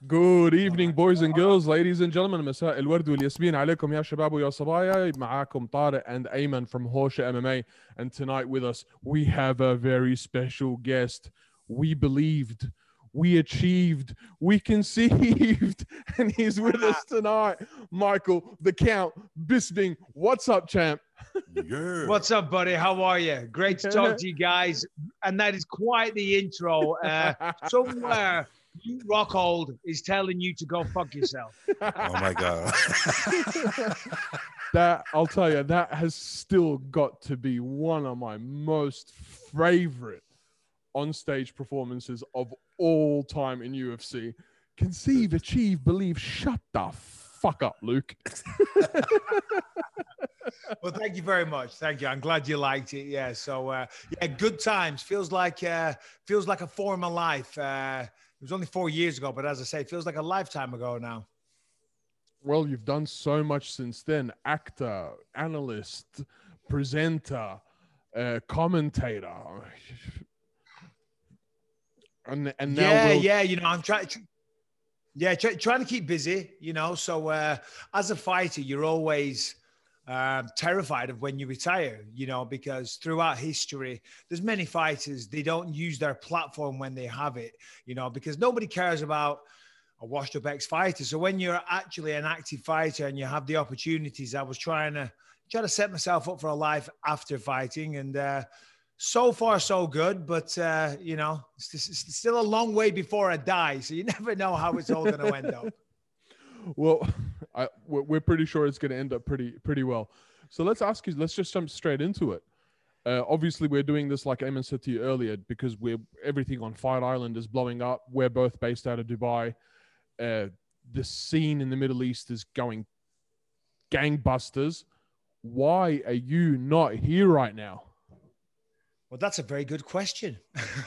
Good evening, boys and girls, ladies and gentlemen. مساء الورد والياسمين عليكم يا شباب ويا صبايا. معاكم طارق and Ayman from Horsha MMA. And tonight with us, we have a very special guest. We believed, we achieved, we conceived, and he's with us tonight. Michael, the Count Bisping. What's up, champ? Yeah. What's up, buddy? How are you? Great to talk to you guys. And that is quite the intro. Somewhere, you Rockhold is telling you to go fuck yourself. Oh my God. That, I'll tell you, that has still got to be one of my most favorite on-stage performances of all time in UFC. Conceive, achieve, believe. Shut the fuck up, Luke. Well, thank you very much. Thank you. I'm glad you liked it. Yeah. So, yeah, good times. Feels like a former life. It was only 4 years ago, but as I say, it feels like a lifetime ago now. Well, you've done so much since then. Actor, analyst, presenter, commentator. And now yeah, you know, I'm trying to keep busy, you know. So as a fighter, you're always terrified of when you retire, you know, because throughout history, there's many fighters, they don't use their platform when they have it, you know, because nobody cares about a washed up ex-fighter. So when you're actually an active fighter and you have the opportunities, I was trying to set myself up for a life after fighting, and so far so good, but you know, it's still a long way before I die, so you never know how it's all going to end up. Well, we're pretty sure it's going to end up pretty well. So let's just jump straight into it. Obviously, we're doing this, like Ayman said to you earlier, because everything on Fight Island is blowing up. We're both based out of Dubai. The scene in the Middle East is going gangbusters. Why are you not here right now? Well, that's a very good question.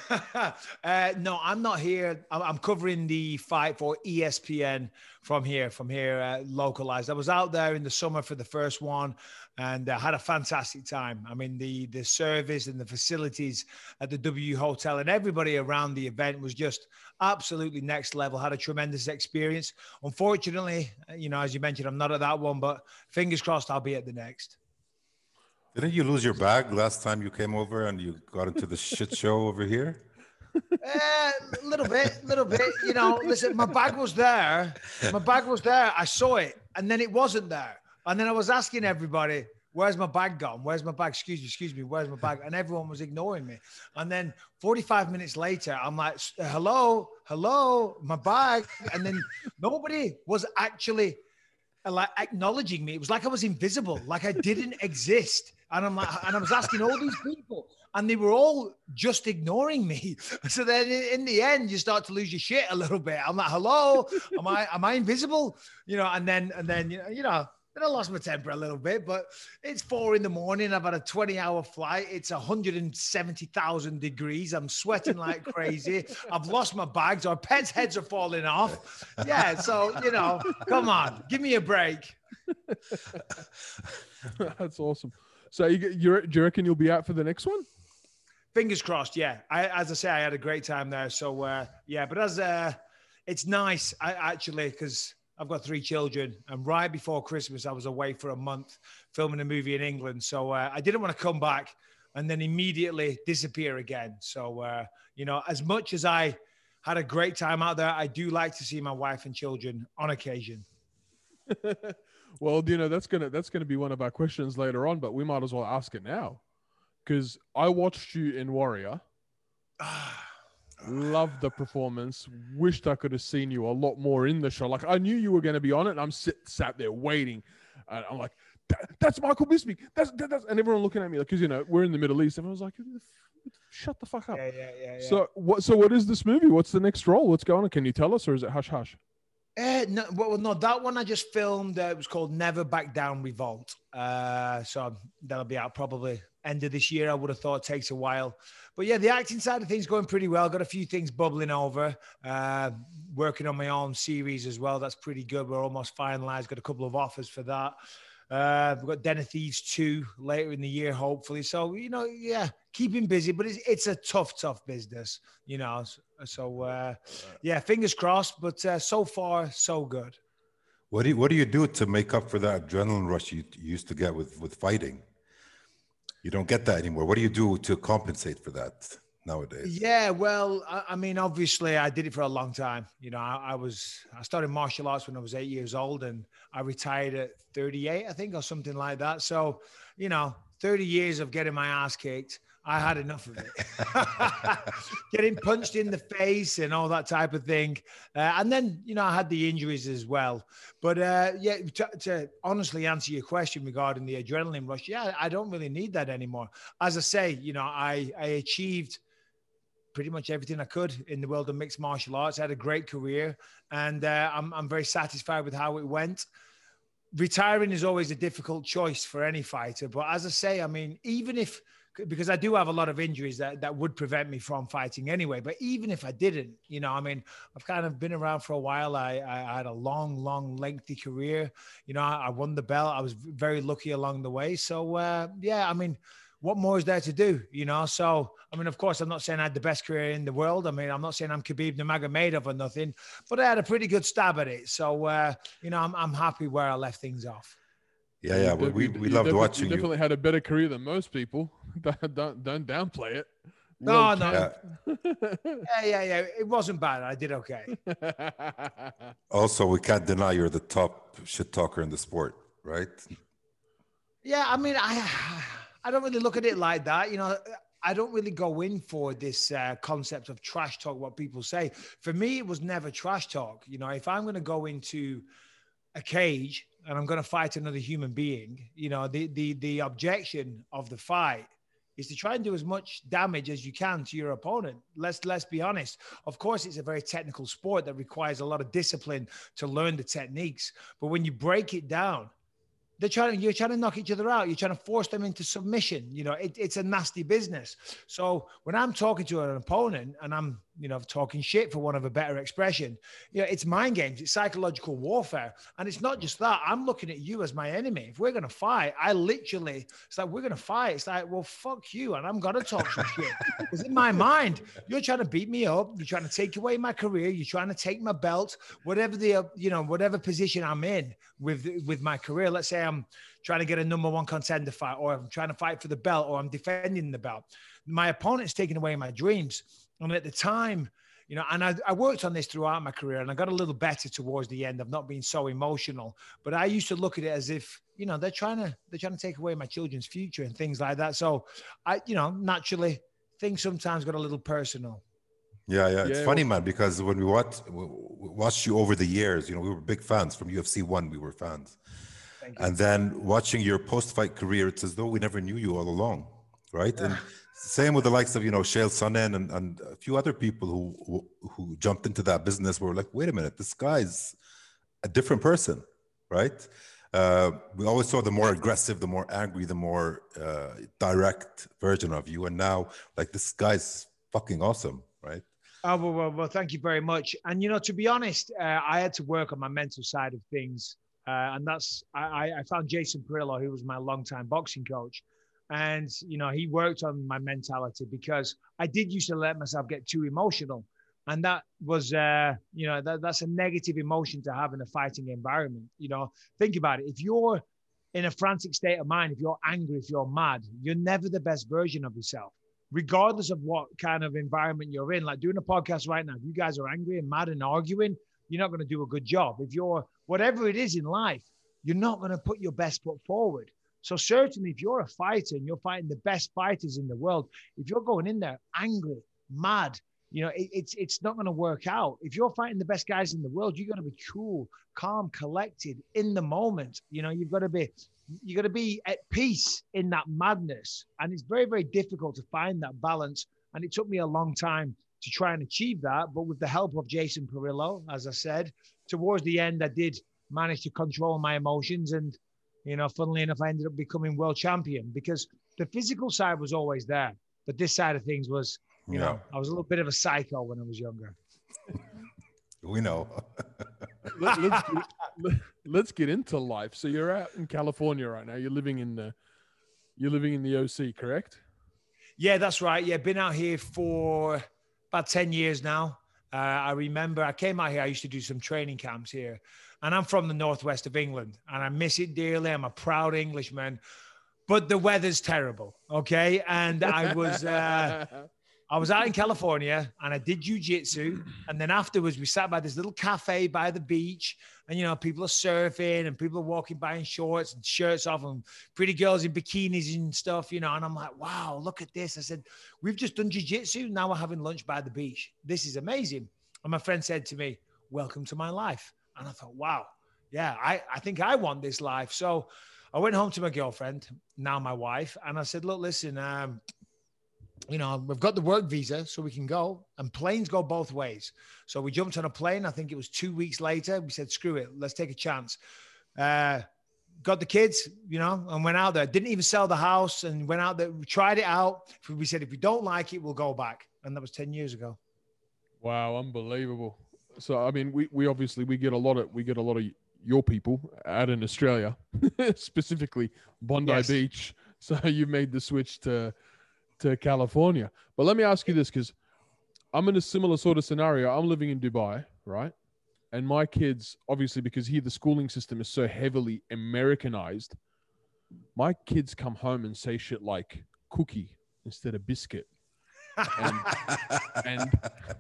No, I'm not here. I'm covering the fight for ESPN from here, localized. I was out there in the summer for the first one and had a fantastic time. I mean, the service and the facilities at the W Hotel and everybody around the event was just absolutely next level. Had a tremendous experience. Unfortunately, you know, as you mentioned, I'm not at that one, but fingers crossed I'll be at the next. Didn't you lose your bag last time you came over and you got into the shit show over here? A little bit. You know, listen, my bag was there. I saw it, and then it wasn't there. And then I was asking everybody, where's my bag gone? Where's my bag? Excuse me, where's my bag? And everyone was ignoring me. And then 45 minutes later, I'm like, hello, my bag. And then nobody was actually like acknowledging me. It was like I was invisible, like I didn't exist. And I was asking all these people, and they were all just ignoring me. So then in the end, you start to lose your shit a little bit. I'm like, hello, am I invisible? You know, and then you know, then I lost my temper a little bit, but it's 4 a.m. I've had a 20-hour flight. It's 170,000 degrees. I'm sweating like crazy. I've lost my bags. Our pets' heads are falling off. Yeah. So, you know, come on, give me a break. That's awesome. So do you reckon you'll be out for the next one? Fingers crossed. Yeah. As I say, I had a great time there. So yeah, but it's nice actually, because I've got 3 children, and right before Christmas, I was away for a month filming a movie in England. So I didn't want to come back and then immediately disappear again. So, you know, as much as I had a great time out there, I do like to see my wife and children on occasion. Well, you know, that's gonna be one of our questions later on, but we might as well ask it now, because I watched you in Warrior. Loved the performance. Wished I could have seen you a lot more in the show. Like, I knew you were going to be on it, and I'm sat there waiting, and I'm like, that's Michael Bisping. That's and everyone looking at me, like, because, you know, we're in the Middle East, and I was like, shut the fuck up. Yeah. So what is this movie? What's the next role? What's going on? Can you tell us, or is it hush hush? No, that one I just filmed. It was called Never Back Down Revolt. So that'll be out probably end of this year. I would have thought. It takes a while. But yeah, the acting side of things going pretty well. Got a few things bubbling over. Working on my own series as well. That's pretty good. We're almost finalized. Got a couple of offers for that. We've got Den of Thieves 2 later in the year, hopefully. So, yeah, keeping busy, but it's a tough business, So, yeah, fingers crossed, but so far, so good. What do you do to make up for that adrenaline rush you used to get with fighting? You don't get that anymore. What do you do to compensate for that nowadays? Yeah, well, I mean, obviously, I did it for a long time. I started martial arts when I was 8 years old, and I retired at 38, I think, or something like that. So, 30 years of getting my ass kicked. I had enough of it. Getting punched in the face and all that type of thing. And then, I had the injuries as well. But yeah, to honestly answer your question regarding the adrenaline rush, yeah, I don't really need that anymore. As I say, I achieved pretty much everything I could in the world of mixed martial arts. I had a great career, and I'm very satisfied with how it went. Retiring is always a difficult choice for any fighter. But as I say, I mean, because I do have a lot of injuries that would prevent me from fighting anyway. But even if I didn't, I mean, I've kind of been around for a while. I had a long, lengthy career. I won the belt. I was very lucky along the way. So, yeah, I mean, what more is there to do, So, I mean, of course, I'm not saying I had the best career in the world. I mean, I'm not saying I'm Khabib Nurmagomedov or nothing, but I had a pretty good stab at it. So, I'm happy where I left things off. Yeah. We loved watching you. You definitely had a better career than most people. Don't downplay it. No. Yeah. It wasn't bad. I did okay. Also, we can't deny you're the top shit talker in the sport, right? Yeah, I mean, I don't really look at it like that. I don't really go in for this concept of trash talk, what people say. For me, it was never trash talk. If I'm going to go into a cage and I'm going to fight another human being, the objection of the fight is to try and do as much damage as you can to your opponent. Let's be honest. Of course, it's a very technical sport that requires a lot of discipline to learn the techniques. But when you break it down, you're trying to knock each other out. You're trying to force them into submission. It's a nasty business. So when I'm talking to an opponent and I'm, talking shit, for one of a better expression, it's mind games. It's psychological warfare. And it's not just that. I'm looking at you as my enemy. If we're going to fight, it's like, we're going to fight. It's like, well, fuck you. And I'm going to talk some shit. Because in my mind, you're trying to beat me up. You're trying to take away my career. You're trying to take my belt, whatever whatever position I'm in with my career. Let's say I'm trying to get a number one contender fight, or I'm trying to fight for the belt, or I'm defending the belt. My opponent's taking away my dreams. And at the time, and I worked on this throughout my career, and I got a little better towards the end of not being so emotional. But I used to look at it as if, they're trying to take away my children's future and things like that. So I, naturally, things sometimes got a little personal. Yeah. It's funny, man, because when we watched you over the years, we were big fans. From UFC 1, we were fans. And then watching your post-fight career, it's as though we never knew you all along, right? And same with the likes of, Chael Sonnen and a few other people who jumped into that business were like, wait a minute, this guy's a different person, right? We always saw the more aggressive, the more angry, the more direct version of you. And now, like, this guy's fucking awesome, right? Oh, well, thank you very much. And, to be honest, I had to work on my mental side of things. And I found Jason Perillo, who was my longtime boxing coach. And, he worked on my mentality, because I did used to let myself get too emotional. And that was, that's a negative emotion to have in a fighting environment. Think about it. If you're in a frantic state of mind, if you're angry, if you're mad, you're never the best version of yourself, regardless of what kind of environment you're in. Like doing a podcast right now, if you guys are angry and mad and arguing, you're not going to do a good job. If you're, whatever it is in life, you're not going to put your best foot forward. So certainly if you're a fighter and you're fighting the best fighters in the world, if you're going in there angry, mad, it's not going to work out. If you're fighting the best guys in the world, you're going to be cool, calm, collected in the moment. You've got to be at peace in that madness. And it's very, very difficult to find that balance. And it took me a long time to try and achieve that. But with the help of Jason Perillo, as I said, towards the end, I did manage to control my emotions. And, funnily enough, I ended up becoming world champion, because the physical side was always there. But this side of things was, I was a little bit of a psycho when I was younger. We know. let's get into life. So you're out in California right now. You're living in the OC, correct? Yeah, that's right. Yeah, been out here for about 10 years now. I remember I came out here. I used to do some training camps here, and I'm from the northwest of England, and I miss it dearly. I'm a proud Englishman, but the weather's terrible. Okay, and I was out in California, and I did jiu-jitsu, and then afterwards we sat by this little cafe by the beach, and people are surfing, and people are walking by in shorts and shirts off, and pretty girls in bikinis and stuff, and I'm like, wow, look at this. I said, we've just done jiu-jitsu, now we're having lunch by the beach. This is amazing. And my friend said to me, welcome to my life. And I thought, wow, yeah, I think I want this life. So I went home to my girlfriend, now my wife, and I said, look, listen, we've got the work visa, so we can go, and planes go both ways. So we jumped on a plane. I think it was 2 weeks later. We said, screw it, let's take a chance. Got the kids, and went out there. Didn't even sell the house, and went out there. We tried it out. We said, if we don't like it, we'll go back. And that was 10 years ago. Wow, unbelievable. So I mean, we obviously get a lot of your people out in Australia, specifically Bondi Beach. So you made the switch to California. But let me ask you this, because I'm in a similar sort of scenario. I'm living in Dubai, right? And my kids, obviously, because here the schooling system is so heavily Americanized, my kids come home and say shit like cookie instead of biscuit, and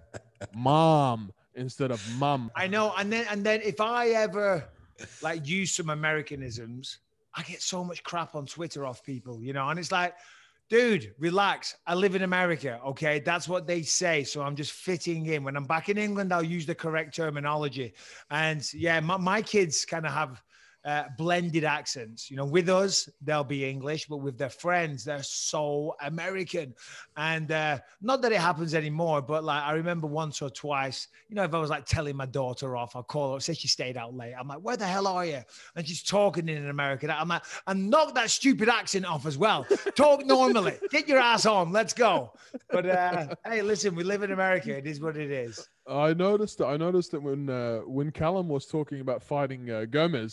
mom instead of mum. I know. And then if I ever use some Americanisms, I get so much crap on Twitter off people, and it's like, dude, relax. I live in America, okay? That's what they say. So I'm just fitting in. When I'm back in England, I'll use the correct terminology. And yeah, my kids kind of have blended accents. With us, they'll be English, but with their friends, they're so American. And not that it happens anymore, but I remember once or twice, if I was telling my daughter off, I'll call her, say she stayed out late. I'm like, where the hell are you? And she's talking in an American. I'm like, and knock that stupid accent off as well. Talk normally. Get your ass on. Let's go. But hey, listen, we live in America. It is what it is. I noticed that when Callum was talking about fighting Gomez,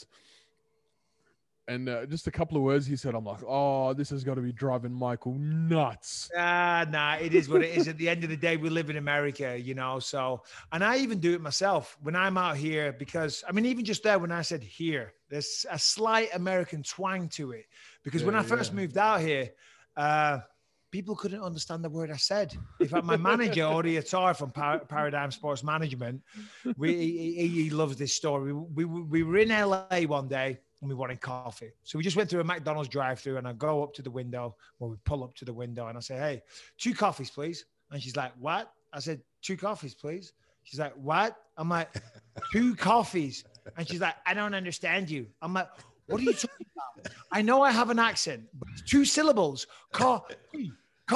and just a couple of words he said, I'm like, oh, this has got to be driving Michael nuts. Nah, it is what it is. At the end of the day, we live in America, so, and I even do it myself when I'm out here, because, I mean, even just there, when I said here, there's a slight American twang to it, because when I first moved out here, people couldn't understand the word I said. In fact, my manager, Ori Atar from Paradigm Sports Management, he loves this story. We were in LA one day, and we wanted coffee. So we just went through a McDonald's drive-through, and I go up to the window, we pull up to the window, and I say, hey, 2 coffees, please. And she's like, what? I said, 2 coffees, please. She's like, what? I'm like, 2 coffees. And she's like, I don't understand you. I'm like, what are you talking about? I know I have an accent, but it's 2 syllables. Coffee.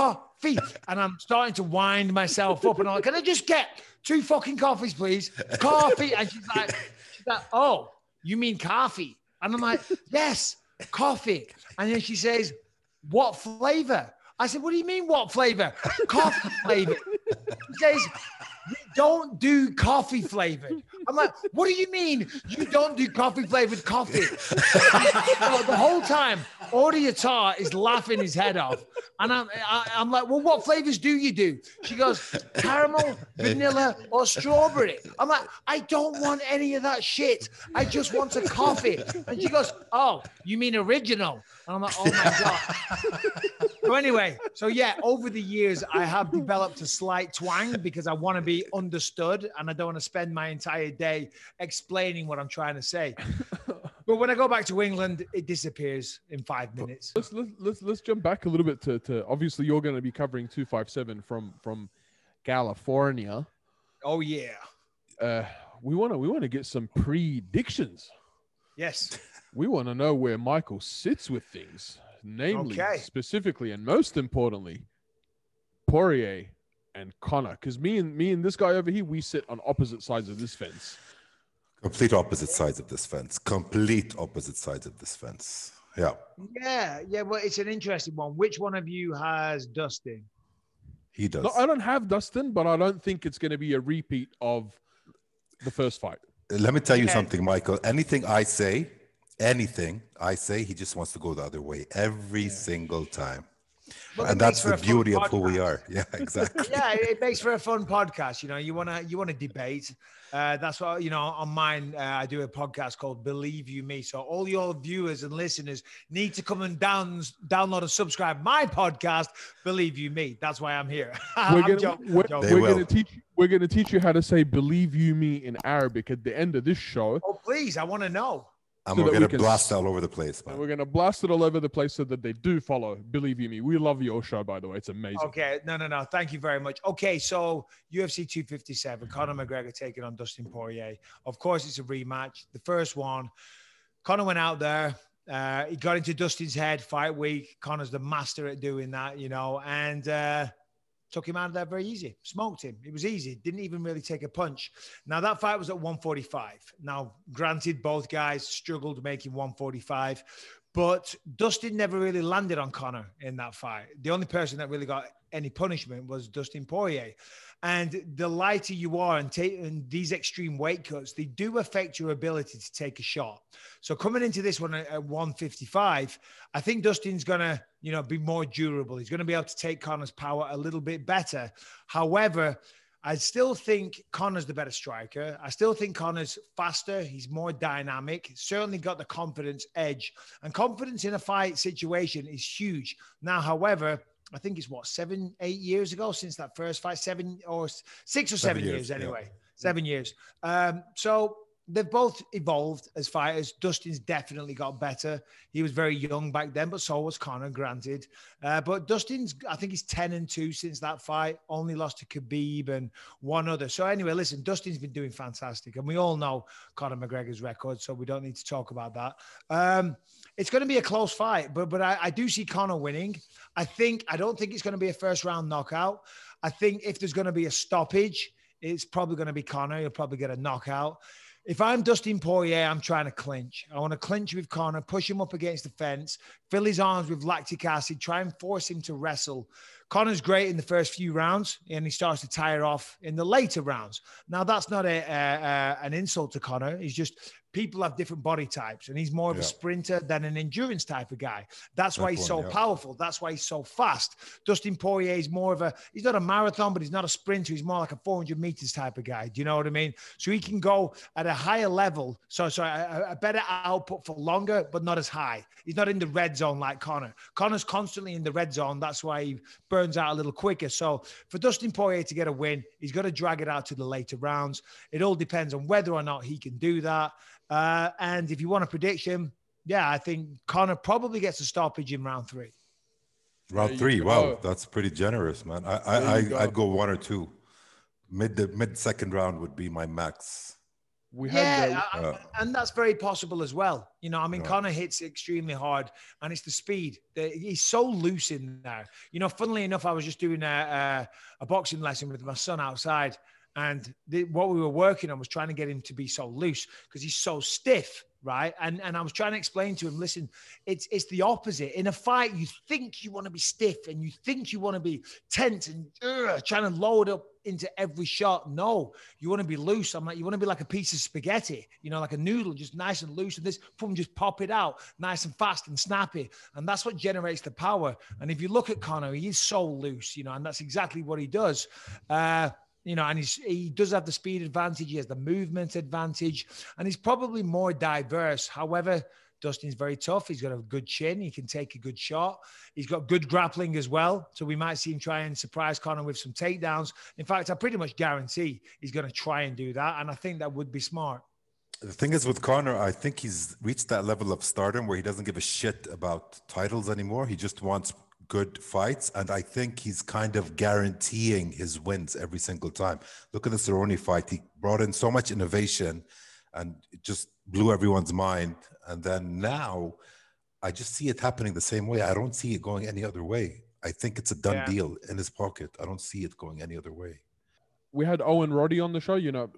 And I'm starting to wind myself up, and I'm like, can I just get 2 fucking coffees, please? Coffee. And she's like, oh, you mean coffee? And I'm like, yes, coffee. And then she says, what flavor? I said, what do you mean, what flavor? Coffee flavored. She says, we don't do coffee flavored. I'm like, what do you mean you don't do coffee flavored coffee? The whole time, Ori Atar is laughing his head off. And I'm like, well, what flavors do you do? She goes, caramel, vanilla, or strawberry. I'm like, I don't want any of that shit. I just want a coffee. And she goes, oh, you mean original? And I'm like, oh my God. So anyway, yeah, over the years, I have developed a slight twang because I want to be understood, and I don't want to spend my entire day explaining what I'm trying to say. But when I go back to England, it disappears in 5 minutes. Let's jump back a little bit to obviously you're going to be covering 257 from California. Oh yeah. We want to get some predictions. Yes. We want to know where Michael sits with things, namely, specifically, and most importantly, Poirier and Conor. Because me and this guy over here, we sit on opposite sides of this fence. Complete opposite sides of this fence. Complete opposite sides of this fence. Yeah. Yeah. Well, it's an interesting one. Which one of you has Dustin? He does. No, I don't have Dustin, but I don't think it's going to be a repeat of the first fight. Let me tell you Yeah. something, Michael. Anything I say, he just wants to go the other way every single time. Well, And it makes that's for the a fun beauty of who we podcast. are. Yeah, exactly. Yeah, it makes for a fun podcast. You know, you wanna debate. That's what, you know, on mine. I do a podcast called Believe You Me. So all your viewers and listeners need to come and download and subscribe my podcast, Believe You Me. That's why I'm here. I'm joking. We're gonna teach you how to say "believe you me" in Arabic at the end of this show. Oh, please, I want to know. And So we're that going we to can blast all over the place, man. And we're gonna blast it all over the place so that they do follow. Believe you me, we love your show, by the way. It's amazing. Okay, no. Thank you very much. Okay, so UFC 257, Conor McGregor taking on Dustin Poirier. Of course, it's a rematch. The first one, Conor went out there. He got into Dustin's head fight week. Conor's the master at doing that, you know, and took him out of there very easy. Smoked him. It was easy. Didn't even really take a punch. Now, that fight was at 145. Now, granted, both guys struggled making 145, but Dustin never really landed on Conor in that fight. The only person that really got any punishment was Dustin Poirier. And the lighter you are and these extreme weight cuts, they do affect your ability to take a shot. So coming into this one at 155, I think Dustin's going to, you know, be more durable. He's going to be able to take Conor's power a little bit better. However, I still think Conor's the better striker. I still think Conor's faster. He's more dynamic. Certainly got the confidence edge. And confidence in a fight situation is huge. Now, however, I think it's 7, 8 years ago since that first fight, 7 or 6 or 7 years anyway. Yeah. 7 years. So they've both evolved as fighters. Dustin's definitely got better. He was very young back then, but so was Conor, granted. But Dustin's, I think he's 10-2 since that fight. Only lost to Khabib and one other. So anyway, listen, Dustin's been doing fantastic. And we all know Conor McGregor's record, so we don't need to talk about that. It's going to be a close fight, but I do see Conor winning. I don't think it's going to be a first round knockout. I think if there's going to be a stoppage, it's probably going to be Conor. He'll probably get a knockout. If I'm Dustin Poirier, I'm trying to clinch. I want to clinch with Conor, push him up against the fence, fill his arms with lactic acid, try and force him to wrestle. Conor's great in the first few rounds, and he starts to tire off in the later rounds. Now, that's not an insult to Conor. He's just people have different body types, and he's more of a sprinter than an endurance type of guy. That's why he's so powerful. That's why he's so fast. Dustin Poirier is more of he's not a marathon, but he's not a sprinter. He's more like a 400 meters type of guy. Do you know what I mean? So he can go at a higher level. So a better output for longer, but not as high. He's not in the red zone like Conor. Conor's constantly in the red zone. That's why he burns out a little quicker. So for Dustin Poirier to get a win, he's got to drag it out to the later rounds. It all depends on whether or not he can do that. And if you want a prediction, I think Conor probably gets a stoppage in round 3. Round 3, wow, that's pretty generous, man. I'd go 1 or 2. Mid second round would be my max. And that's very possible as well. You know, I mean, Conor hits extremely hard, and it's the speed. He's so loose in there. You know, funnily enough, I was just doing a boxing lesson with my son outside. And what we were working on was trying to get him to be so loose because he's so stiff, right? And I was trying to explain to him, listen, it's the opposite. In a fight, you think you want to be stiff and you think you want to be tense and trying to load up into every shot. No, you want to be loose. I'm like, you want to be like a piece of spaghetti, you know, like a noodle, just nice and loose. And this, boom, just pop it out, nice and fast and snappy. And that's what generates the power. And if you look at Conor, he is so loose, you know, and that's exactly what he does. You know, and he does have the speed advantage. He has the movement advantage, and he's probably more diverse. However, Dustin's very tough. He's got a good chin. He can take a good shot. He's got good grappling as well. So we might see him try and surprise Conor with some takedowns. In fact, I pretty much guarantee he's going to try and do that. And I think that would be smart. The thing is with Conor, I think he's reached that level of stardom where he doesn't give a shit about titles anymore. He just wants good fights, and I think he's kind of guaranteeing his wins every single time. Look at the Cerrone fight. He brought in so much innovation and it just blew everyone's mind. And then now I just see it happening the same way. I don't see it going any other way. I think it's a done deal in his pocket. I don't see it going any other way. We had Owen Roddy on the show, you know.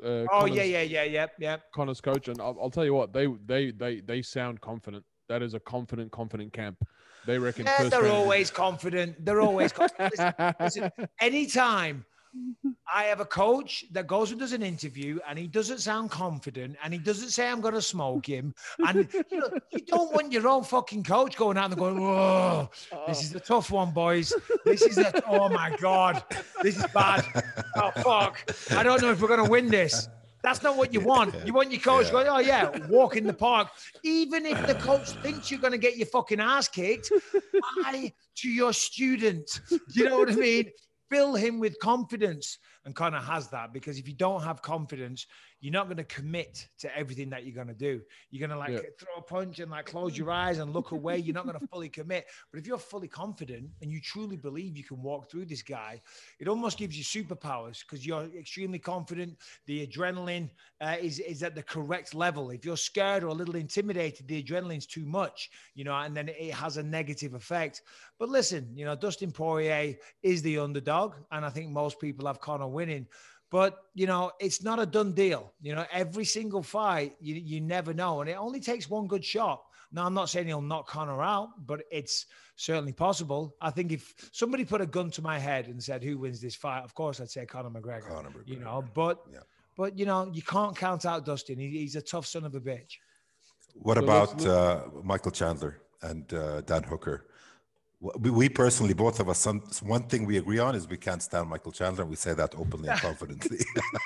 Conor's coach, and I'll tell you what, they sound confident. That is a confident camp. They reckon. They're always confident. They're always confident. Listen, anytime I have a coach that goes and does an interview and he doesn't sound confident and he doesn't say I'm going to smoke him. And you don't want your own fucking coach going out and going, whoa, this is a tough one, boys. Oh my God, this is bad. Oh, fuck. I don't know if we're going to win this. That's not what you want. You want your coach going, oh yeah, walk in the park. Even if the coach thinks you're going to get your fucking ass kicked, lie to your student. You know what I mean? Fill him with confidence. And Conor has that, because if you don't have confidence, you're not going to commit to everything that you're going to do. You're going to throw a punch and close your eyes and look away. You're not going to fully commit. But if you're fully confident and you truly believe you can walk through this guy, it almost gives you superpowers, because you're extremely confident. The adrenaline is at the correct level. If you're scared or a little intimidated, the adrenaline's too much, and then it has a negative effect. But listen, Dustin Poirier is the underdog, and I think most people have Conor winning. But, it's not a done deal. Every single fight, you never know. And it only takes one good shot. Now, I'm not saying he'll knock Conor out, but it's certainly possible. I think if somebody put a gun to my head and said, who wins this fight? Of course, I'd say Conor McGregor. But you can't count out Dustin. He's a tough son of a bitch. What about Michael Chandler and Dan Hooker? We personally, both of us, one thing we agree on is we can't stand Michael Chandler, and we say that openly and confidently.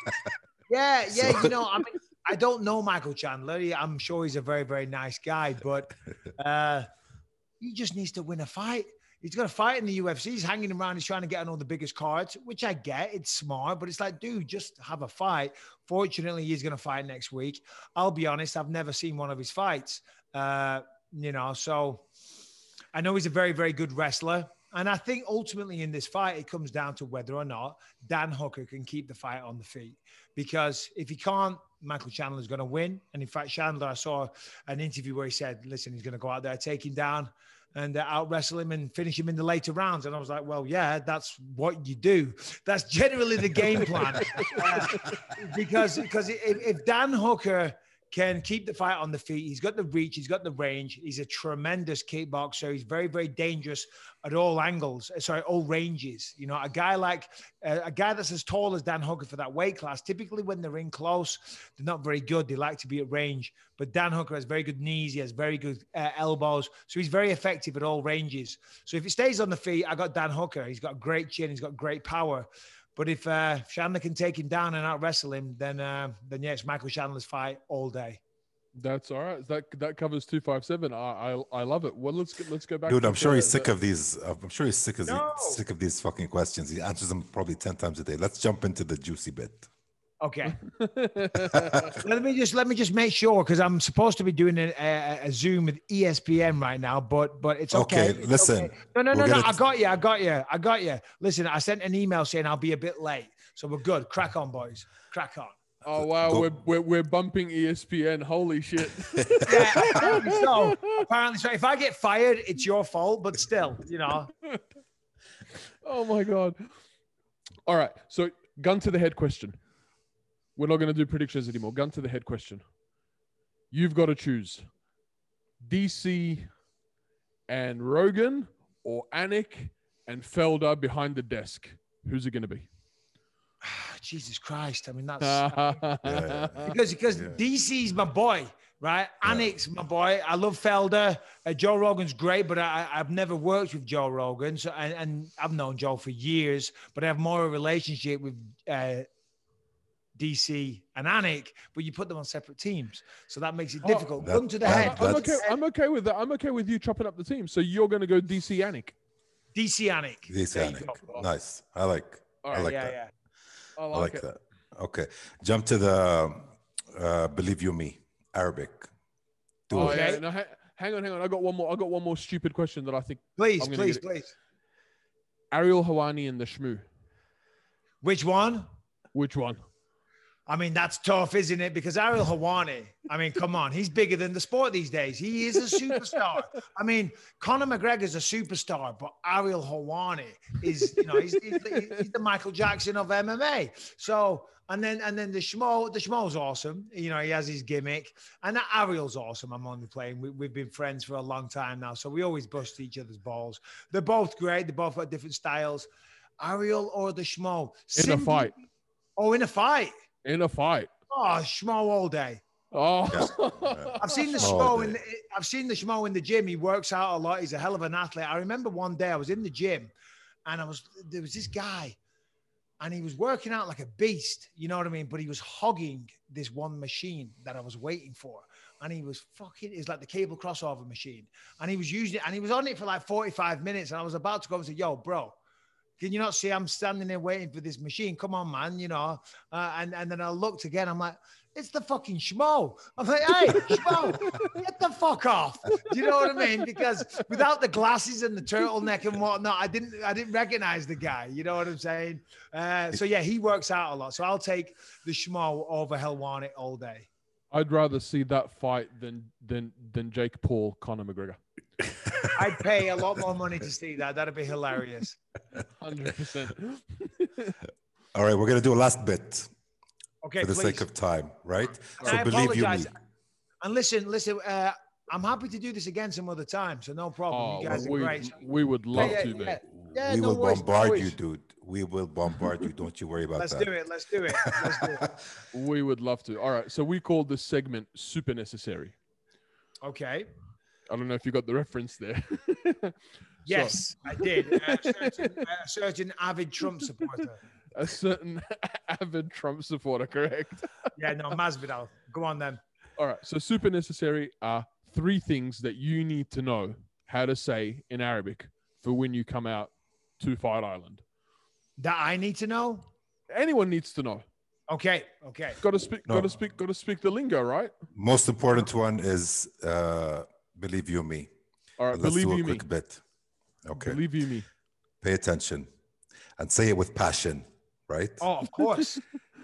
I don't know Michael Chandler. I'm sure he's a very, very nice guy, but he just needs to win a fight. He's got a fight in the UFC. He's hanging around. He's trying to get on all the biggest cards, which I get. It's smart, but it's like, dude, just have a fight. Fortunately, he's going to fight next week. I'll be honest, I've never seen one of his fights, so I know he's a very, very good wrestler. And I think ultimately in this fight, it comes down to whether or not Dan Hooker can keep the fight on the feet. Because if he can't, Michael Chandler's going to win. And in fact, Chandler, I saw an interview where he said, listen, he's going to go out there, take him down and out wrestle him and finish him in the later rounds. And I was like, well, yeah, that's what you do. That's generally the game plan. Because if Dan Hooker can keep the fight on the feet, he's got the reach, he's got the range, he's a tremendous kickboxer, he's very, very dangerous at all angles, all ranges. A guy that's as tall as Dan Hooker for that weight class, typically when they're in close, they're not very good. They like to be at range. But Dan Hooker has very good knees, he has very good elbows, so he's very effective at all ranges. So if he stays on the feet, I got Dan Hooker. He's got great chin, he's got great power. But if Chandler can take him down and out wrestle him, then it's Michael Chandler's fight all day. That's all right. That covers 257. I love it. Well, let's go back. Dude, I'm sure he's sick of these. I'm sure he's sick of these fucking questions. He answers them probably 10 times a day. Let's jump into the juicy bit. Okay. let me just make sure, because I'm supposed to be doing a Zoom with ESPN right now, but it's okay. Okay, listen. Okay. No. I got you. Listen, I sent an email saying I'll be a bit late, so we're good. Crack on, boys. Crack on. Oh wow, we're bumping ESPN. Holy shit. Yeah, apparently so. If I get fired, it's your fault, but still, Oh my God. All right. So gun to the head question. We're not going to do predictions anymore. Gun to the head question. You've got to choose DC and Rogan or Anik and Felder behind the desk. Who's it going to be? Jesus Christ. I mean, that's because DC's my boy, right? Yeah. Anik's my boy. I love Felder. Joe Rogan's great, but I've never worked with Joe Rogan. So, and I've known Joe for years, but I have more of a relationship with DC and Anik, but you put them on separate teams, so that makes it difficult. Gun to the head. I'm okay with that. I'm okay with you chopping up the team. So you're going to go DC Anik. DC Anik. DC Anik. Nice. I like that. Yeah. I like that. Okay. Jump to the Believe You Me, Arabic. Okay. Yeah. No, hang on. I got one more stupid question that I think. Please. Ariel Helwani and the Shmoo. Which one? I mean, that's tough, isn't it? Because Ariel Helwani, I mean, come on, he's bigger than the sport these days. He is a superstar. I mean, Conor McGregor's a superstar, but Ariel Helwani is, he's the Michael Jackson of MMA. So, and then the Shmo's awesome. He has his gimmick, and Ariel's awesome. I'm only playing. We've been friends for a long time now, so we always bust each other's balls. They're both great. They both got different styles. Ariel or the Schmo? In a fight. Oh, in a fight. In a fight. Oh, Schmo all day. Oh. I've seen the Schmo in the gym. He works out a lot. He's a hell of an athlete. I remember one day I was in the gym and there was this guy and he was working out like a beast, you know what I mean? But he was hogging this one machine that I was waiting for. And he was it's like the cable crossover machine. And he was using it and he was on it for like 45 minutes. And I was about to go and say, yo, bro, can you not see I'm standing there waiting for this machine? Come on, man, you know? And then I looked again. I'm like, it's the fucking Schmo. I'm like, hey, Schmo, get the fuck off. Do you know what I mean? Because without the glasses and the turtleneck and whatnot, I didn't recognize the guy. You know what I'm saying? So yeah, he works out a lot. So I'll take the Schmo over Helwani all day. I'd rather see that fight than Jake Paul, Conor McGregor. I'd pay a lot more money to see that. That'd be hilarious. 100%. All right, we're gonna do a last bit. Okay, for the please. sake of time, right? And so I believe apologize. you me. And listen. I'm happy to do this again some other time, so no problem. You guys are great. We would love to, mate. Yeah, we no will worries, bombard you, dude. We will bombard you. Don't you worry about Let's that. Let's do it. We would love to. All right. So we call this segment Super Necessary. Okay. I don't know if you got the reference there. Yes, I did. A certain avid Trump supporter. A certain avid Trump supporter, correct? Yeah, no, Masvidal. Go on then. All right. So super necessary are 3 things that you need to know how to say in Arabic for when you come out to Fight Island. That I need to know? Anyone needs to know. Okay. Got to speak the lingo, right? Most important one is believe you me. All right. Let's Believe do a you me. quick bit. Okay. Believe you me. Pay attention and say it with passion, right? Oh, of course.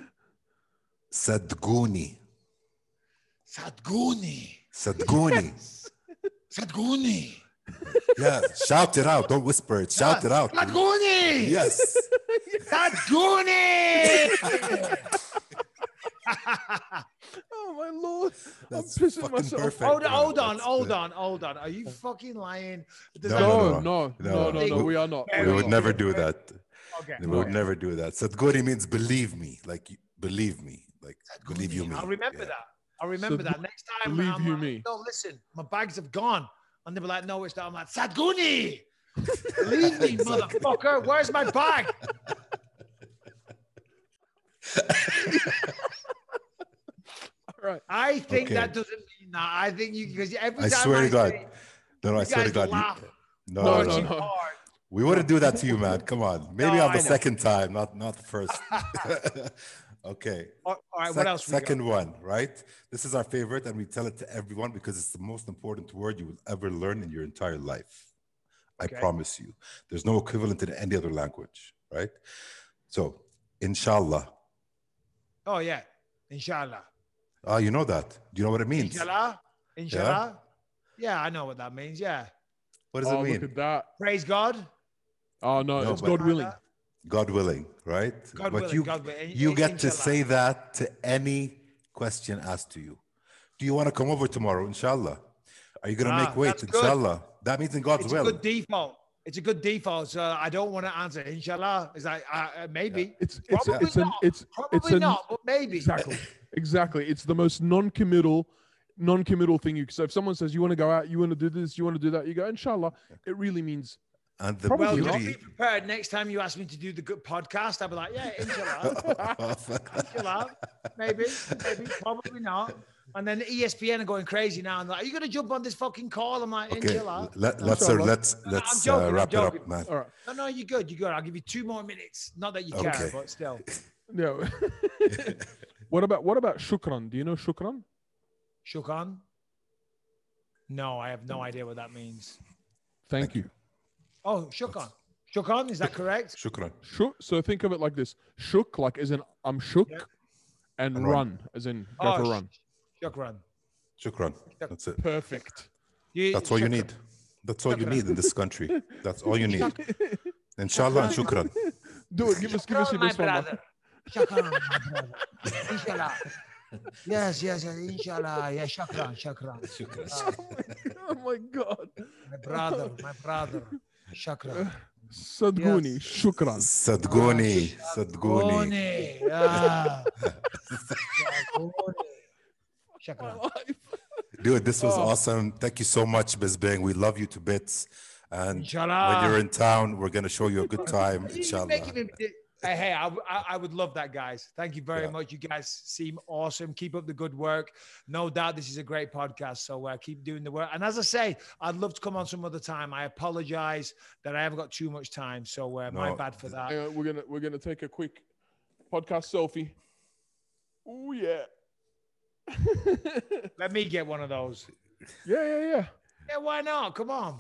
Sadguni. Sadguni. Yeah, shout it out. Don't whisper it. Shout it out. Sadguni. Yes. Sadguni. Oh my Lord. That's I'm pissing fucking myself. perfect. Hold man. on. Are you fucking lying? No. We are not. We would never do that. Okay. We would never do that. Sadguni means believe me. Like, believe me. Like, believe you me. I'll remember that. I'll remember that. Next time, believe I'm you like, me. no, listen, my bags have gone. And they'll be like, no, it's not. I'm like, Sadguni. Believe me, motherfucker. Where's my bag? Right. I think that doesn't mean that. I think you, because every I time swear to God. say, No, I swear to God. laugh. No. We wouldn't do that to you, man. Come on. Maybe No, on the I know. second time, not the first. Okay. All right, what else? Second one, right? This is our favorite, and we tell it to everyone because it's the most important word you will ever learn in your entire life. Okay. I promise you. There's no equivalent in any other language, right? So, inshallah. Oh, yeah. Inshallah. Oh, you know that. Do you know what it means? Inshallah. Yeah, I know what that means. Yeah. What does it mean? Look at that. Praise God. Oh, no, it's but- God willing. God willing, right? God but willing. you get to Inshallah. say that to any question asked to you. Do you want to come over tomorrow, inshallah? Are you going to make weight, that's good. inshallah? That means in God's It's will. a good default. It's a good default. So I don't want to answer. Inshallah. It's like, maybe. It's Probably not, but maybe. Exactly. It's the most non-committal thing. So if someone says you want to go out, you want to do this, you want to do that, you go, inshallah. It really means. And the Probably Well, beauty, just be prepared. Next time you ask me to do the good podcast, I'll be like, yeah, inshallah. Inshallah. Maybe, probably not. And then ESPN are going crazy now. And like, are you going to jump on this fucking call? I'm like, okay, inshallah. let's joking, wrap it up, man. All right. No, you're good. I'll give you 2 more minutes. Not that you care, Okay. but still. No. What about shukran? Do you know shukran? Shukran? No, I have no idea what that means. Thank you. Oh, shukran. Shukran, is that correct? Shukran. So think of it like this: shook, like as in I'm shook, Yeah. and And run, as in go for a run. Shukran. Shukran. That's it. Perfect. That's all you Shukran. need. That's all you need in this country. That's all you need. Inshallah and shukran. Do it. Give us your Shukran, my best one. man. brother. Shukran, my brother. Inshallah. Yes, inshallah. Yeah, shukran. Oh my God. My brother. Shukran. صدقوني شكرا. صدقوني. شكرا. Dude, this was awesome. Thank you so much, Bisbing. We love you to bits. And Inshallah. when you're in town, we're going to show you a good time, inshallah. Hey, I would love that, guys. Thank you very much. You guys seem awesome. Keep up the good work. No doubt this is a great podcast. So keep doing the work. And as I say, I'd love to come on some other time. I apologize that I haven't got too much time. So my bad for that. We're gonna take a quick podcast selfie. Oh yeah. Let me get one of those. Yeah. Yeah, why not? Come on.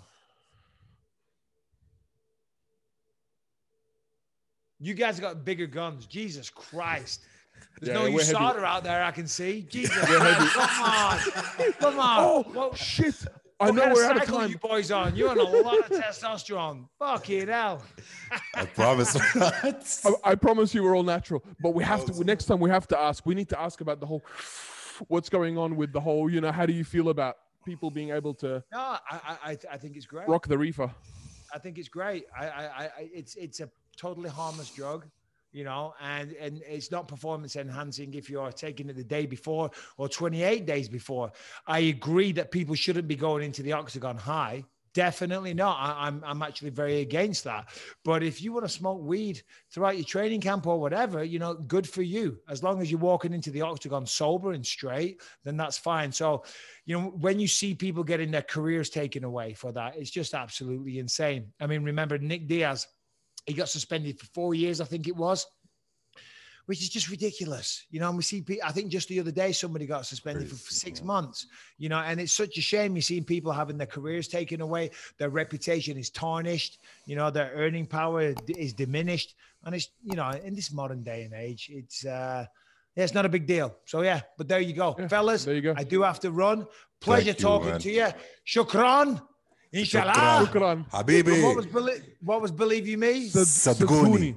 You guys got bigger guns. Jesus Christ. There's no USADA out there I can see. Jesus Christ. Come on. Oh, shit. I know what we're kind out of of time. You boys on. You're on a lot of testosterone. Fucking hell. I promise. I promise you we're all natural. But we have to, next time we have to ask. We need to ask about the whole, what's going on with the whole, how do you feel about people being able to I think it's great. Rock the reefer. I think it's great. It's a totally harmless drug, and it's not performance enhancing if you're taking it the day before or 28 days before. I agree that people shouldn't be going into the octagon high. Definitely not. I'm actually very against that. But if you want to smoke weed throughout your training camp or whatever, good for you. As long as you're walking into the octagon sober and straight, then that's fine. So, when you see people getting their careers taken away for that, it's just absolutely insane. I mean, remember Nick Diaz, he got suspended for 4 years, I think it was, which is just ridiculous. And we see people, I think just the other day, somebody got suspended for 6 months, and it's such a shame. You're seeing people having their careers taken away. Their reputation is tarnished. Their earning power is diminished. And it's, in this modern day and age, it's not a big deal. So, but there you go. Fellas, there you go. I do have to run. Pleasure talking to you. Shukran. Inshallah. Shukran. Habibi. What was believe you me? Sadguni.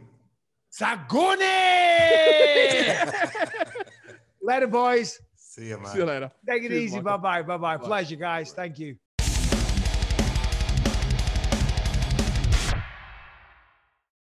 Later, boys. See you, man. See you later. Take it easy. Bye-bye. Bye-bye. Pleasure, guys. Thank you.